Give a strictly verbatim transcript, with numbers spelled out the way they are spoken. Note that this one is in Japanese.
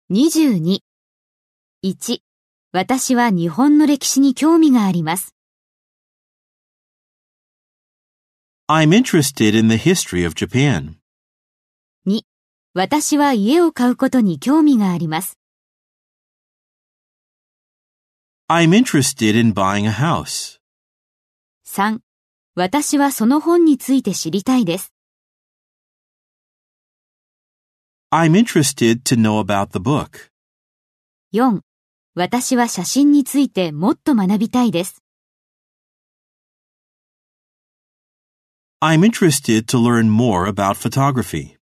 にじゅうに。いち、私は日本の歴史に興味があります。 I'm interested in the history of Japan. に、私は家を買うことに興味があります。 I'm interested in buying a house. さん、私はその本について知りたいです。 I'm interested to know about the book. よん、私は写真についてもっと学びたいです。 I'm interested to learn more about photography.